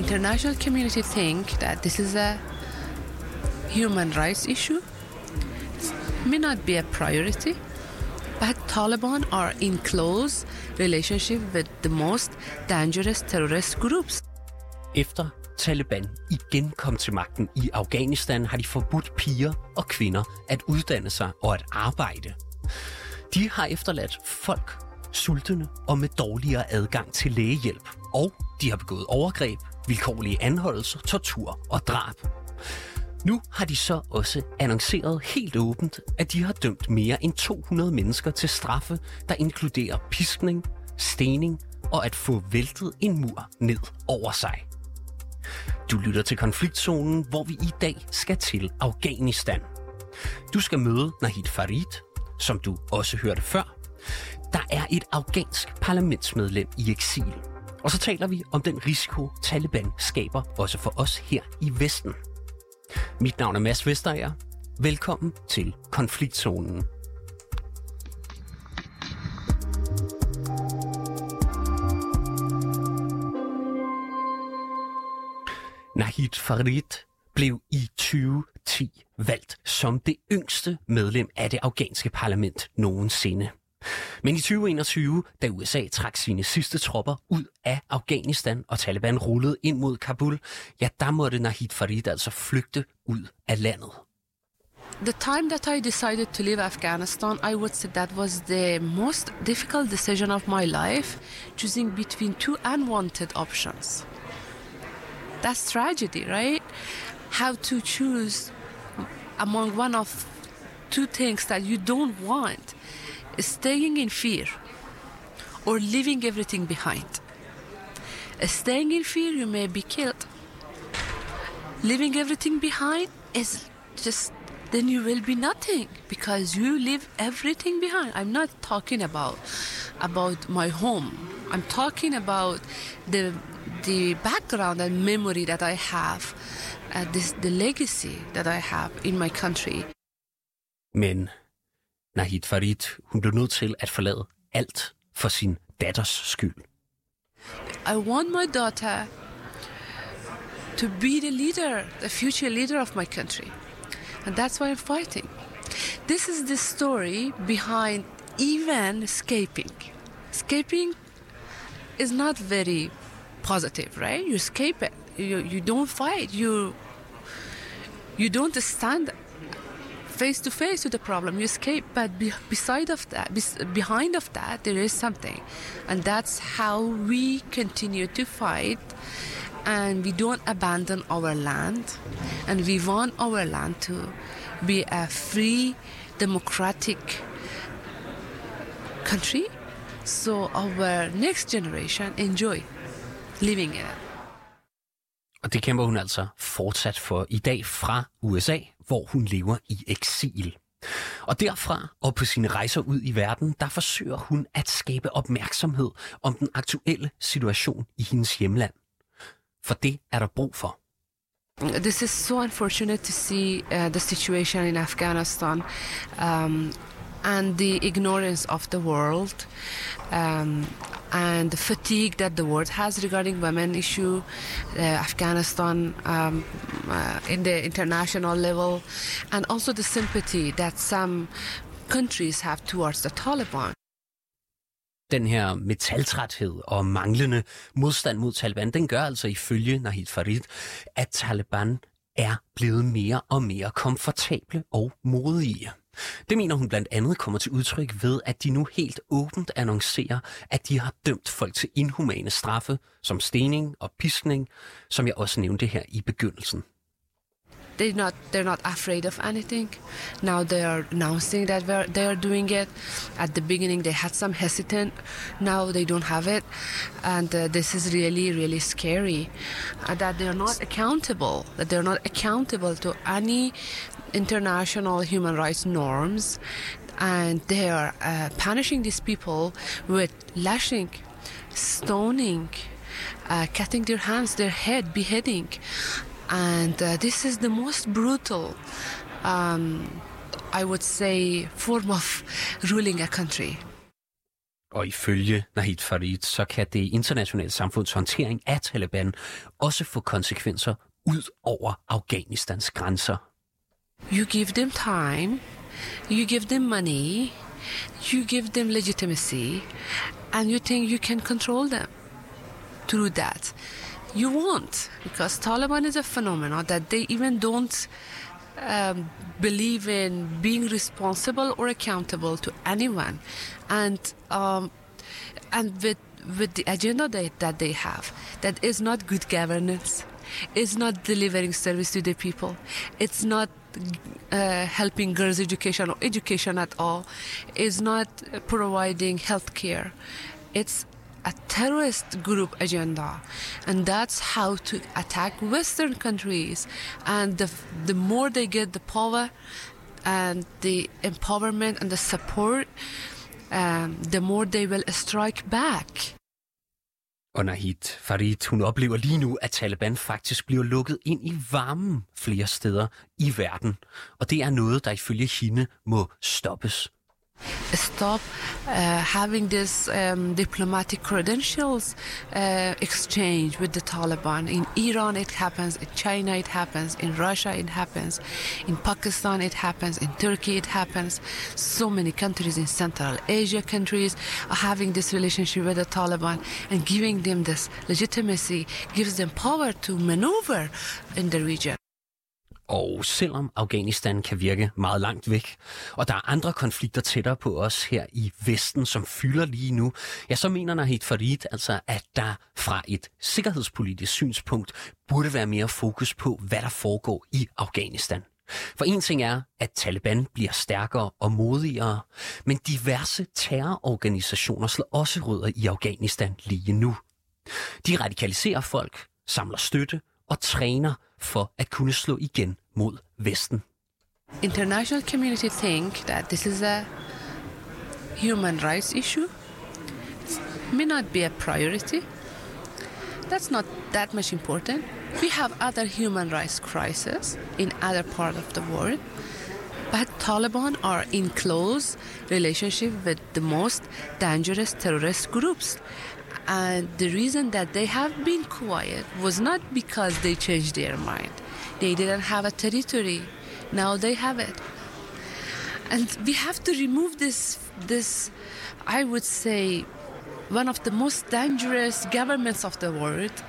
international community think that this is a human rights issue. It may not be a priority, but Taliban are in close relationship with the most dangerous terrorist groups. Efter Taliban igen kom til magten i Afghanistan, har de forbudt piger og kvinder at uddanne sig og at arbejde. De har efterladt folk sultne og med dårligere adgang til lægehjælp. Og de har begået overgreb, vilkårlige anholdelser, tortur og drab. Nu har de så også annonceret helt åbent, at de har dømt mere end 200 mennesker til straffe, der inkluderer piskning, stening og at få væltet en mur ned over sig. Du lytter til Konfliktzonen, hvor vi i dag skal til Afghanistan. Du skal møde Nahid Farid, som du også hørte før. Der er et afghansk parlamentsmedlem i eksil. Og så taler vi om den risiko, Taliban skaber også for os her i Vesten. Mit navn er Mads Vesterager. Velkommen til Konfliktzonen. Nahid Farid blev i 2010 valgt som det yngste medlem af det afghanske parlament nogensinde. Men i 2021, da USA trak sine sidste tropper ud af Afghanistan og Taliban rullede ind mod Kabul, ja, der måtte Nahid Farid altså flygte ud af landet. The time that I decided to leave Afghanistan, I would say that was the most difficult decision of my life, choosing between two unwanted options. That's tragedy, right? How to choose among one of two things that you don't want. Staying in fear or leaving everything behind. Staying in fear, you may be killed. Leaving everything behind is just, then you will be nothing because you leave everything behind. I'm not talking about my home. I'm talking about the background and memory that I have, the legacy that I have in my country. Men Nahid Farid, hun blev nødt til at forlade alt for sin datters skyld. I want my daughter to be the leader, the future leader of my country. And that's why I'm fighting. This is the story behind even escaping. Escaping is not very positive, right? You escape it. You don't fight. You don't stand face to face with the problem. You escape, but behind of that, there is something, and that's how we continue to fight. And we don't abandon our land, and we want our land to be a free, democratic country, so our next generation enjoy living in it. Og det kæmper hun altså fortsat for i dag fra USA, hvor hun lever i eksil. Og derfra og på sine rejser ud i verden, der forsøger hun at skabe opmærksomhed om den aktuelle situation i hendes hjemland. For det er der brug for. This is so unfortunate to see the situation in Afghanistan and the ignorance of the world and the fatigue that the world has regarding women issue, Afghanistan in the international level, and also the sympathy that some countries have towards the Taliban. Den her metaltræthed og manglende modstand mod Taliban, den gør altså ifølge Nahid Farid, at Taliban er blevet mere og mere komfortable og modige. Det mener hun blandt andet kommer til udtryk ved, at de nu helt åbent annoncerer, at de har dømt folk til inhumane straffe, som stening og piskning, som jeg også nævnte her i begyndelsen. They're not afraid of anything. Now they are announcing that they are doing it. At the beginning they had some hesitant. Now they don't have it. And this is really, really scary. That they are not accountable. That they are not accountable to any international human rights norms. And they are punishing these people with lashing, stoning, cutting their hands, their head, beheading. And this is the most brutal, I would say, form of ruling a country. Og ifølge Nahid Farid, så kan det internationale samfunds håndtering af Taliban også få konsekvenser ud over Afghanistans grænser. You give them time, you give them money, you give them legitimacy, and you think you can control them through that. You won't, because Taliban is a phenomenon that they even don't believe in being responsible or accountable to anyone, and with the agenda that they have, that is not good governance, it's not delivering service to the people, it's not helping girls' education or education at all, it's not providing health care. It's a terrorist group agenda, and that's how to attack Western countries. And the more they get the power and the empowerment and the support, the more they will strike back. Og Nahid Farid, hun oplever lige nu, at Taliban faktisk bliver lukket ind i varmen flere steder i verden. Og det er noget, der ifølge hende må stoppes. Stop having this diplomatic credentials exchange with the Taliban. In Iran it happens, in China it happens, in Russia it happens, in Pakistan it happens, in Turkey it happens. So many countries in Central Asia countries are having this relationship with the Taliban, and giving them this legitimacy gives them power to maneuver in the region. Og selvom Afghanistan kan virke meget langt væk, og der er andre konflikter tættere på os her i Vesten, som fylder lige nu, ja, så mener Nahid Farid altså, at der fra et sikkerhedspolitisk synspunkt burde være mere fokus på, hvad der foregår i Afghanistan. For en ting er, at Taliban bliver stærkere og modigere, men diverse terrororganisationer slår også rødder i Afghanistan lige nu. De radikaliserer folk, samler støtte og træner for at kunne slå igen mod Vesten. International community think that this is a human rights issue. It may not be a priority. That's not that much important. We have other human rights crises in other parts of the world. But Taliban are in close relationship with the most dangerous terrorist groups. And the reason that they have been quiet was not because they changed their mind. They didn't have a territory. Now they have it. And we have to remove this, I would say, one of the most dangerous governments of the world,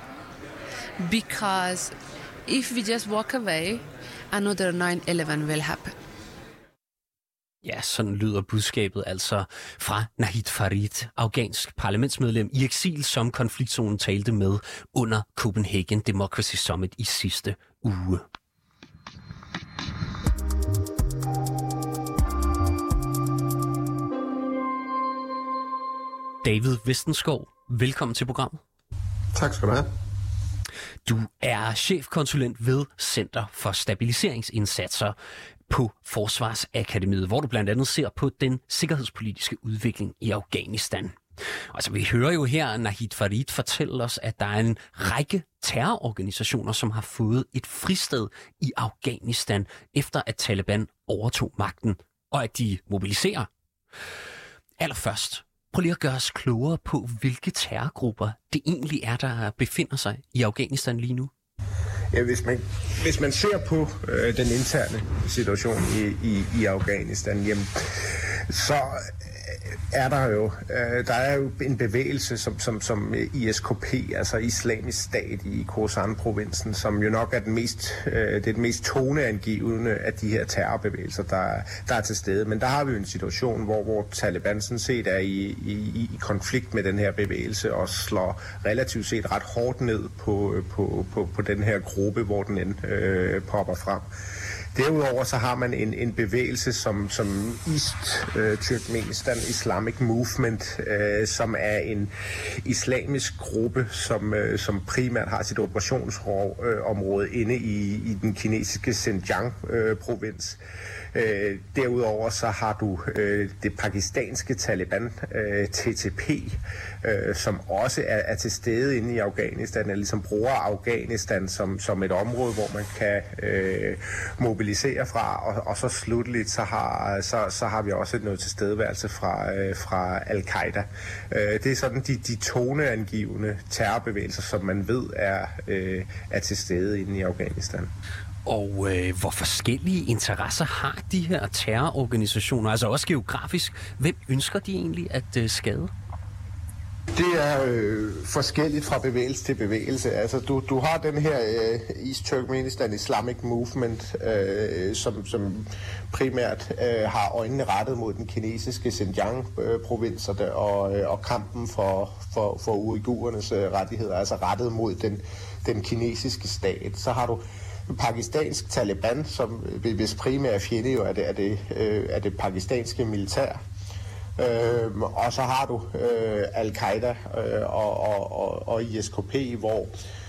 because if we just walk away, another 9/11 will happen. Ja, sådan lyder budskabet altså fra Nahid Farid, afghansk parlamentsmedlem i eksil, som konfliktzonen talte med under Copenhagen Democracy Summit i sidste uge. David Vestenskov, velkommen til programmet. Tak skal du have. Du er chefkonsulent ved Center for Stabiliseringsindsatser på Forsvarsakademiet, hvor du blandt andet ser på den sikkerhedspolitiske udvikling i Afghanistan. Altså, vi hører jo her Nahid Farid fortælle os, at der er en række terrororganisationer, som har fået et fristed i Afghanistan, efter at Taliban overtog magten, og at de mobiliserer. Allerførst, prøv lige at gøre os klogere på, hvilke terrorgrupper det egentlig er, der befinder sig i Afghanistan lige nu. Ja, hvis man ser på den interne situation i Afghanistan, jamen, så er der jo en bevægelse som ISKP, altså Islamisk Stat i Khorasan-provinsen, som jo nok er det mest toneangivende af de her terrorbevægelser, der er til stede. Men der har vi jo en situation, hvor Taliban sådan set er i konflikt med den her bevægelse og slår relativt set ret hårdt ned på den her gruppe, hvor den end popper frem. Derudover så har man en bevægelse som East Turkmenistan Islamic Movement, som er en islamisk gruppe, som primært har sit operationsområde inde i den kinesiske Xinjiang-provins. Derudover så har du det pakistanske Taliban, TTP, som også er til stede inde i Afghanistan, eller ligesom bruger Afghanistan som et område, hvor man kan mobilisere fra, og så slutteligt så har vi også noget tilstedeværelse fra Al-Qaida. Det er sådan de toneangivende terrorbevægelser, som man ved er til stede inde i Afghanistan. Og hvor forskellige interesser har de her terrororganisationer, altså også geografisk? Hvem ønsker de egentlig at skade? Det er forskelligt fra bevægelse til bevægelse. Altså, du har den her East Turkmenistan Islamic Movement, som primært har øjnene rettet mod den kinesiske Xinjiang-provins og kampen for uigurernes rettigheder, altså rettet mod den kinesiske stat. Så har du pakistansk Taliban, som hvis primære fjende jo er det pakistanske militær. Og så har du Al-Qaida og ISKP, hvor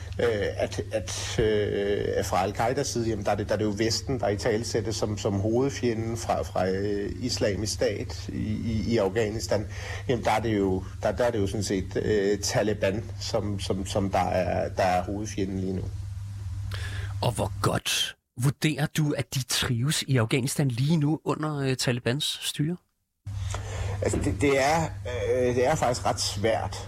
fra Al-Qaidas side, jamen, der er det jo Vesten, der i talesættes som hovedfjenden fra Islamisk Stat i Afghanistan. Jamen, der er det jo sådan set Taliban, som der er hovedfjenden lige nu. Og hvor godt vurderer du, at de trives i Afghanistan lige nu under Talibans styre? Altså, det er faktisk ret svært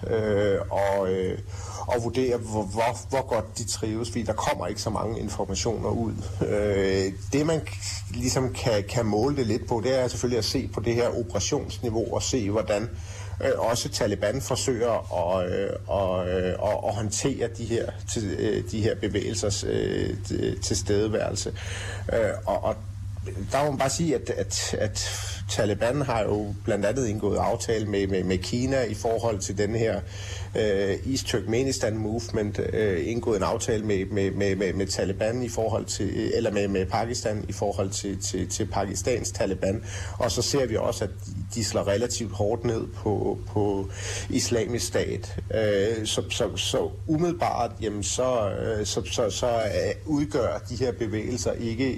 at vurdere, hvor godt de trives, fordi der kommer ikke så mange informationer ud. Det, man ligesom kan måle det lidt på, det er selvfølgelig at se på det her operationsniveau og se, hvordan også Taliban forsøger at håndtere de her bevægelsers tilstedeværelse. Og der må man bare sige, at Taliban har jo blandt andet indgået aftale med Kina i forhold til den her East Turkmenistan Movement, indgået en aftale med Taliban i forhold til, eller med Pakistan i forhold til Pakistans Taliban. Og så ser vi også, at de slår relativt hårdt ned på Islamisk Stat. Så umiddelbart, jamen, så udgør de her bevægelser ikke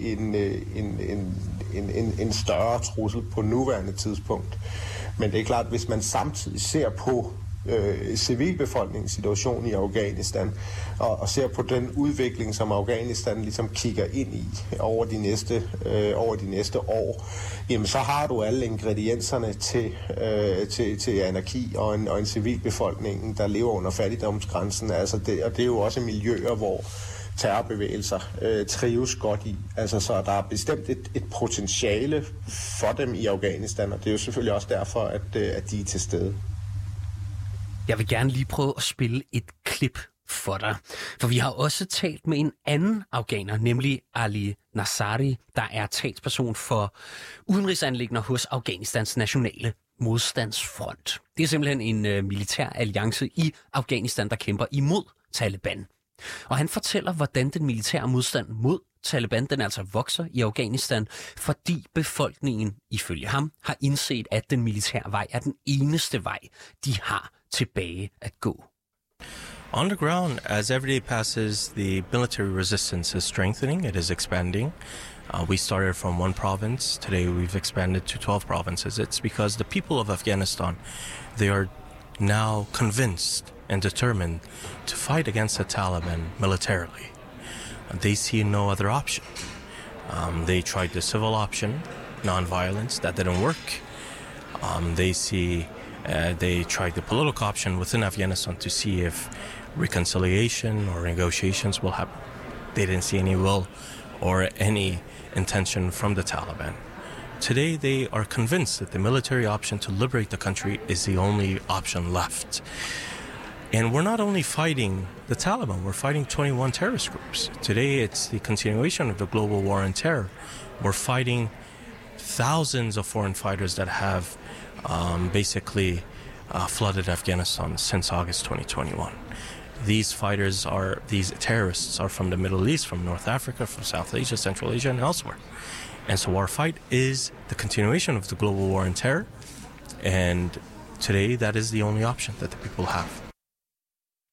en større trussel på nuværende tidspunkt. Men det er klart, hvis man samtidig ser på civilbefolkningens situation i Afghanistan og ser på den udvikling, som Afghanistan ligesom kigger ind i over de næste år, jamen så har du alle ingredienserne til anarki og en civilbefolkning, der lever under fattigdomsgrænsen. Altså og det er jo også miljøer, hvor terrorbevægelser trives godt i. Altså, så der er bestemt et potentiale for dem i Afghanistan, og det er jo selvfølgelig også derfor, at de er til stede. Jeg vil gerne lige prøve at spille et klip for dig, for vi har også talt med en anden afghaner, nemlig Ali Nassari, der er talsperson for udenrigsanliggender hos Afghanistans nationale modstandsfront. Det er simpelthen en militær alliance i Afghanistan, der kæmper imod Taliban. Og han fortæller, hvordan den militære modstand mod Taliban, den altså vokser i Afghanistan, fordi befolkningen, ifølge ham, har indset, at den militære vej er den eneste vej, de har tilbage at gå. On the ground, as every day passes, the military resistance is strengthening, it is expanding. We started from one province, today we've expanded to 12 provinces. It's because the people of Afghanistan, they are now convinced and determined to fight against the Taliban militarily. They see no other option. They tried the civil option, non-violence, that didn't work. They tried the political option within Afghanistan to see if reconciliation or negotiations will happen. They didn't see any will or any intention from the Taliban. Today, they are convinced that the military option to liberate the country is the only option left. And we're not only fighting the Taliban, we're fighting 21 terrorist groups. Today, it's the continuation of the global war on terror. We're fighting thousands of foreign fighters that have basically flooded Afghanistan since August 2021. These terrorists are from the Middle East, from North Africa, from South Asia, Central Asia, and elsewhere. And so our fight is the continuation of the global war on terror. And today, that is the only option that the people have.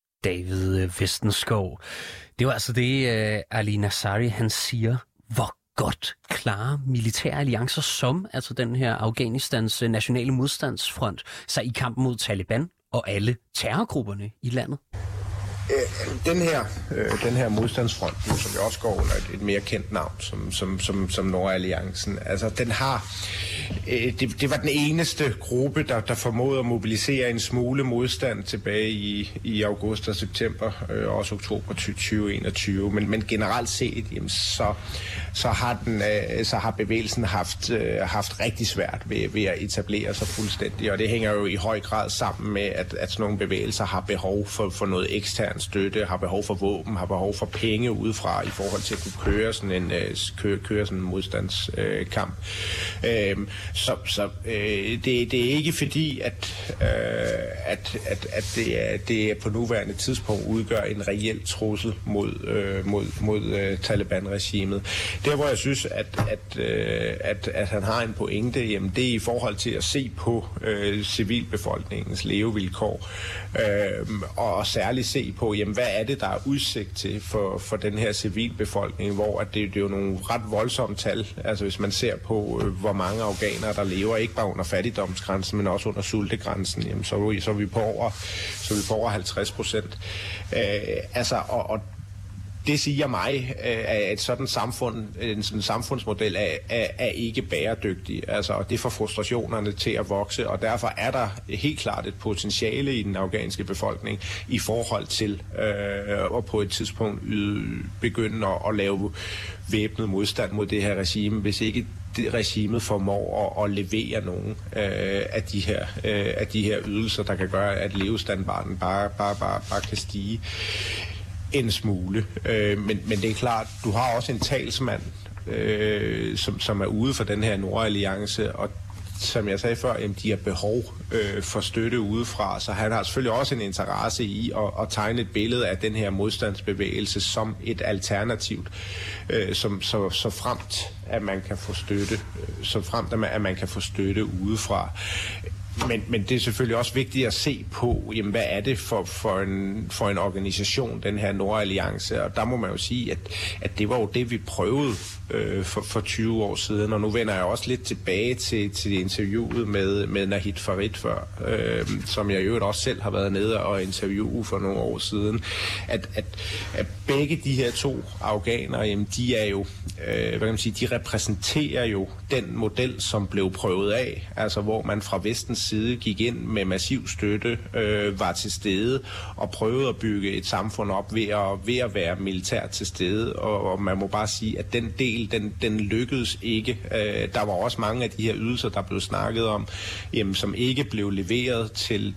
David Vestenskov. Det var altså det, Ali Nassari, han siger. Hvor godt klare militære alliancer, som altså den her Afghanistans nationale modstandsfront, sig i kampen mod Taliban og alle terrorgrupperne i landet? Den her modstandsfront, som jo også går under et mere kendt navn, som Nordalliancen, altså den har, det var den eneste gruppe, der formåede at mobilisere en smule modstand tilbage i august og september, også oktober 2021, men generelt set, jamen, så har bevægelsen haft rigtig svært ved at etablere sig fuldstændig, og det hænger jo i høj grad sammen med, at sådan nogle bevægelser har behov for noget ekstern støtte, har behov for våben, har behov for penge udefra i forhold til at kunne køre sådan en modstandskamp. Så det er ikke fordi, at det på nuværende tidspunkt udgør en reel trussel mod Taliban-regimet. Der, hvor jeg synes, at han har en pointe, jamen, det er i forhold til at se på civilbefolkningens levevilkår, og særligt se på, jamen, hvad er det, der er udsigt til for den her civilbefolkning, hvor at det er jo nogle ret voldsomme tal. Altså hvis man ser på, hvor mange afghanere, der lever ikke bare under fattigdomsgrænsen, men også under sultegrænsen, jamen, så er vi på over 50%. Altså, og det siger mig, at en sådan samfundsmodel er ikke bæredygtig, altså, og det får frustrationerne til at vokse, og derfor er der helt klart et potentiale i den afghanske befolkning i forhold til at på et tidspunkt begynde at lave væbnet modstand mod det her regime, hvis ikke regimet formår at levere nogle af de her ydelser, der kan gøre, at levestandarden bare kan stige en smule. Men det er klart, du har også en talsmand, som er ude for den her Nordalliance, og som jeg sagde før, jamen, de har behov for støtte udefra, så han har selvfølgelig også en interesse i at tegne et billede af den her modstandsbevægelse som et alternativ, så fremt at man kan få støtte udefra. Men det er selvfølgelig også vigtigt at se på, jamen, hvad er det for en organisation, den her Nordalliance, og der må man jo sige, at det var jo det, vi prøvede for 20 år siden, og nu vender jeg også lidt tilbage til interviewet med Nahid Farid før, som jeg jo også selv har været nede og interviewe for nogle år siden, at begge de her to afghanere, jamen, de er jo, hvad kan man sige, de repræsenterer jo den model, som blev prøvet af, altså hvor man fra Vestens side gik ind med massiv støtte, var til stede og prøvede at bygge et samfund op ved at være militært til stede, og man må bare sige, at den del, den lykkedes ikke. Der var også mange af de her ydelser, der blev snakket om, jamen, som ikke blev leveret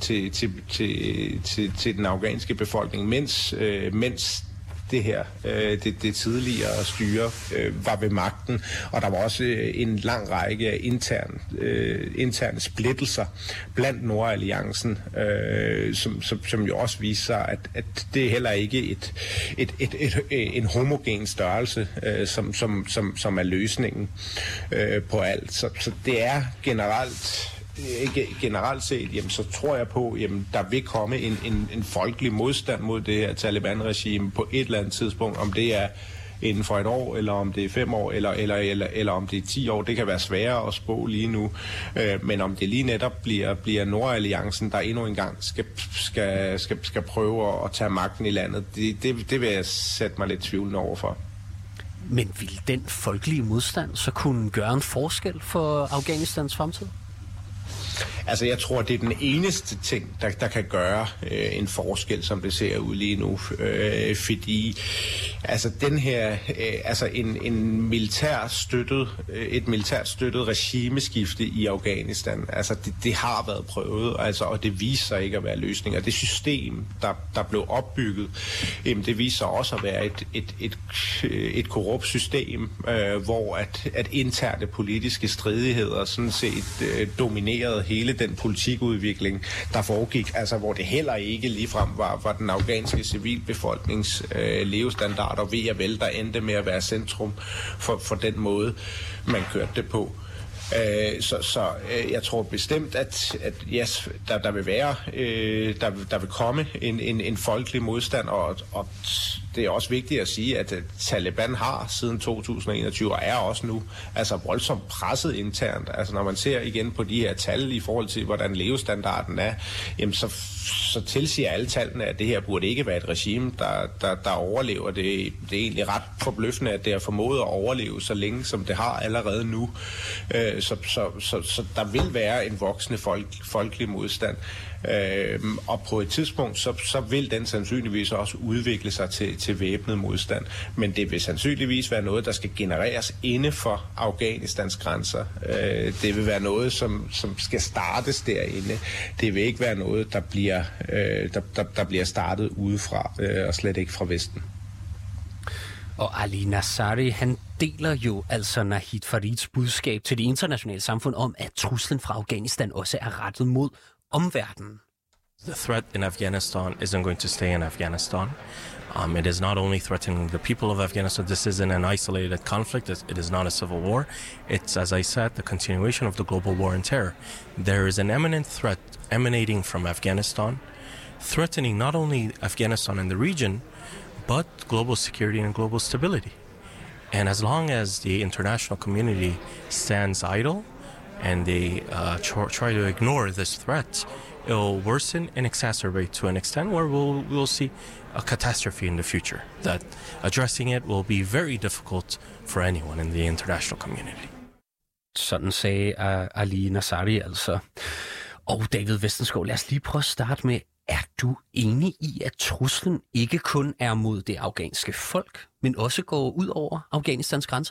til den afghanske befolkning, mens det her, det tidligere styre var ved magten, og der var også en lang række af interne splittelser blandt Nordalliancen, som jo også viser sig, at det er heller ikke en homogen størrelse, som er løsningen på alt. Så det er generelt set, jamen, så tror jeg på, jamen, der vil komme en folkelig modstand mod det her Taliban-regime på et eller andet tidspunkt, om det er inden for et år, eller om det er 5 år, eller om det er 10 år. Det kan være sværere at spå lige nu, men om det lige netop bliver Nordalliancen, der endnu engang skal prøve at tage magten i landet, det vil jeg sætte mig lidt tvivlende overfor. Men vil den folkelige modstand så kunne gøre en forskel for Afghanistans fremtid? Altså, jeg tror, det er den eneste ting, der kan gøre en forskel, som det ser ud lige nu. Fordi altså, den her, et militært støttet regimeskifte i Afghanistan, altså, det har været prøvet, altså, og det viser sig ikke at være løsning. Og det system, der blev opbygget, det viser sig også at være et korrupt system, hvor at interne politiske stridigheder sådan set dominerede hele den politikudvikling, der foregik, altså hvor det heller ikke ligefrem var den afghanske civilbefolknings levestandarder ved at vel, der endte med at være centrum for den måde, man kørte det på. Så jeg tror bestemt, at yes, der vil være, der vil komme en folkelig modstand, og det er også vigtigt at sige, at Taliban har siden 2021 og er også nu altså voldsomt presset internt. Altså når man ser igen på de her tal i forhold til, hvordan levestandarden er, jamen så tilsiger alle tallene, at det her burde ikke være et regime, der overlever. Det er egentlig ret forbløffende, at det har formået at overleve så længe, som det har allerede nu. Så der vil være en voksende folkelig modstand. Og på et tidspunkt, så vil den sandsynligvis også udvikle sig til væbnet modstand. Men det vil sandsynligvis være noget, der skal genereres inde for Afghanistans grænser. Det vil være noget, som skal startes derinde. Det vil ikke være noget, der bliver startet udefra, og slet ikke fra Vesten. Og Ali Nazari, han deler jo altså Nahid Farids budskab til det internationale samfund om, at truslen fra Afghanistan også er rettet mod omverdenen. The threat in Afghanistan isn't going to stay in Afghanistan. It is not only threatening the people of Afghanistan. This isn't an isolated conflict. It is not a civil war. It's, as I said, the continuation of the global war on terror. There is an imminent threat emanating from Afghanistan, threatening not only Afghanistan and the region, but global security and global stability. And as long as the international community stands idle and they try to ignore this threat, it will worsen and exacerbate to an extent where we'll see a catastrophe in the future. That addressing it will be very difficult for anyone in the international community. Sådan sagde Ali Nazari altså. Og David Vestenskov, lad os lige prøve at starte med, er du enig i, at truslen ikke kun er mod det afghanske folk, men også går ud over Afghanistans grænser?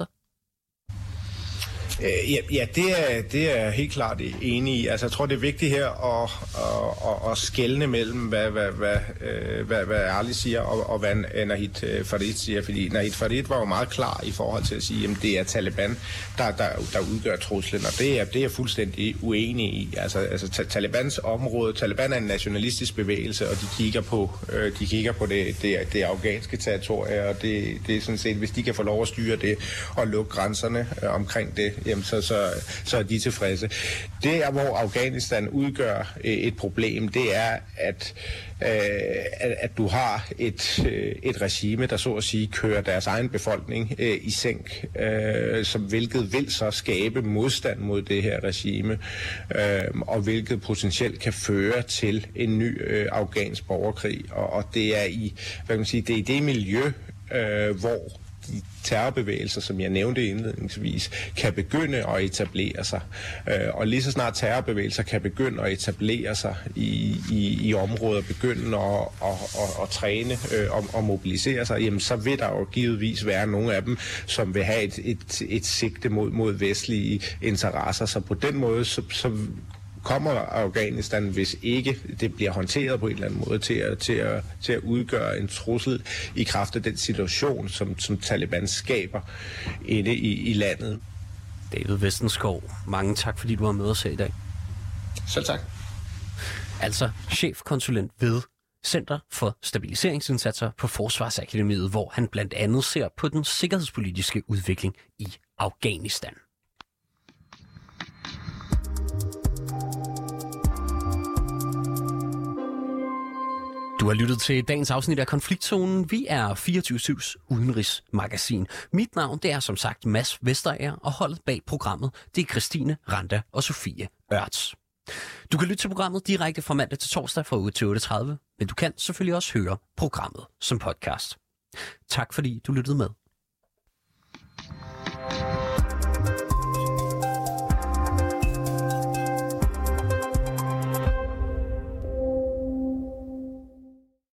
Ja, det er jeg helt klart enig i. Altså, jeg tror, det er vigtigt her at skelne mellem, hvad Ali siger, og hvad Nahid Farid siger. Fordi Nahid Farid var jo meget klar i forhold til at sige, at det er Taliban, der udgør truslen, og det er jeg fuldstændig uenig i. Altså Talibans område, Taliban er en nationalistisk bevægelse, og de kigger på det afghanske territorie, og det er sådan set, hvis de kan få lov at styre det og lukke grænserne omkring det, jamen så er de tilfredse. Det er, hvor Afghanistan udgør et problem, det er, at du har et regime, der så at sige kører deres egen befolkning i sænk, hvilket vil så skabe modstand mod det her regime, og hvilket potentielt kan føre til en ny afghansk borgerkrig. Og det er det er i det miljø, hvor de terrorbevægelser, som jeg nævnte indledningsvis, kan begynde at etablere sig. Og lige så snart terrorbevægelser kan begynde at etablere sig i områder, begynde at træne og mobilisere sig, jamen så vil der jo givetvis være nogle af dem, som vil have et sigte mod vestlige interesser. Så på den måde, så kommer Afghanistan, hvis ikke det bliver håndteret på en eller anden måde, til at udgøre en trussel i kraft af den situation, som Taliban skaber inde i landet. David Vestenskov, mange tak, fordi du var med os her i dag. Selv tak. Altså chefkonsulent ved Center for Stabiliseringsindsatser på Forsvarsakademiet, hvor han blandt andet ser på den sikkerhedspolitiske udvikling i Afghanistan. Du har lyttet til dagens afsnit af Konfliktzonen. Vi er 24/7's udenrigsmagasin. Mit navn det er som sagt Mads Vesterager, og holdet bag programmet det er Christine Randa og Sofie Ørts. Du kan lytte til programmet direkte fra mandag til torsdag fra 8 til 8:30, men du kan selvfølgelig også høre programmet som podcast. Tak fordi du lyttede med.